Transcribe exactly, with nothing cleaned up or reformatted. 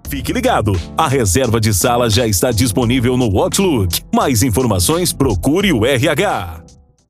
Fique ligado, a reserva de sala já está disponível no Outlook. Mais informações, procure o R H.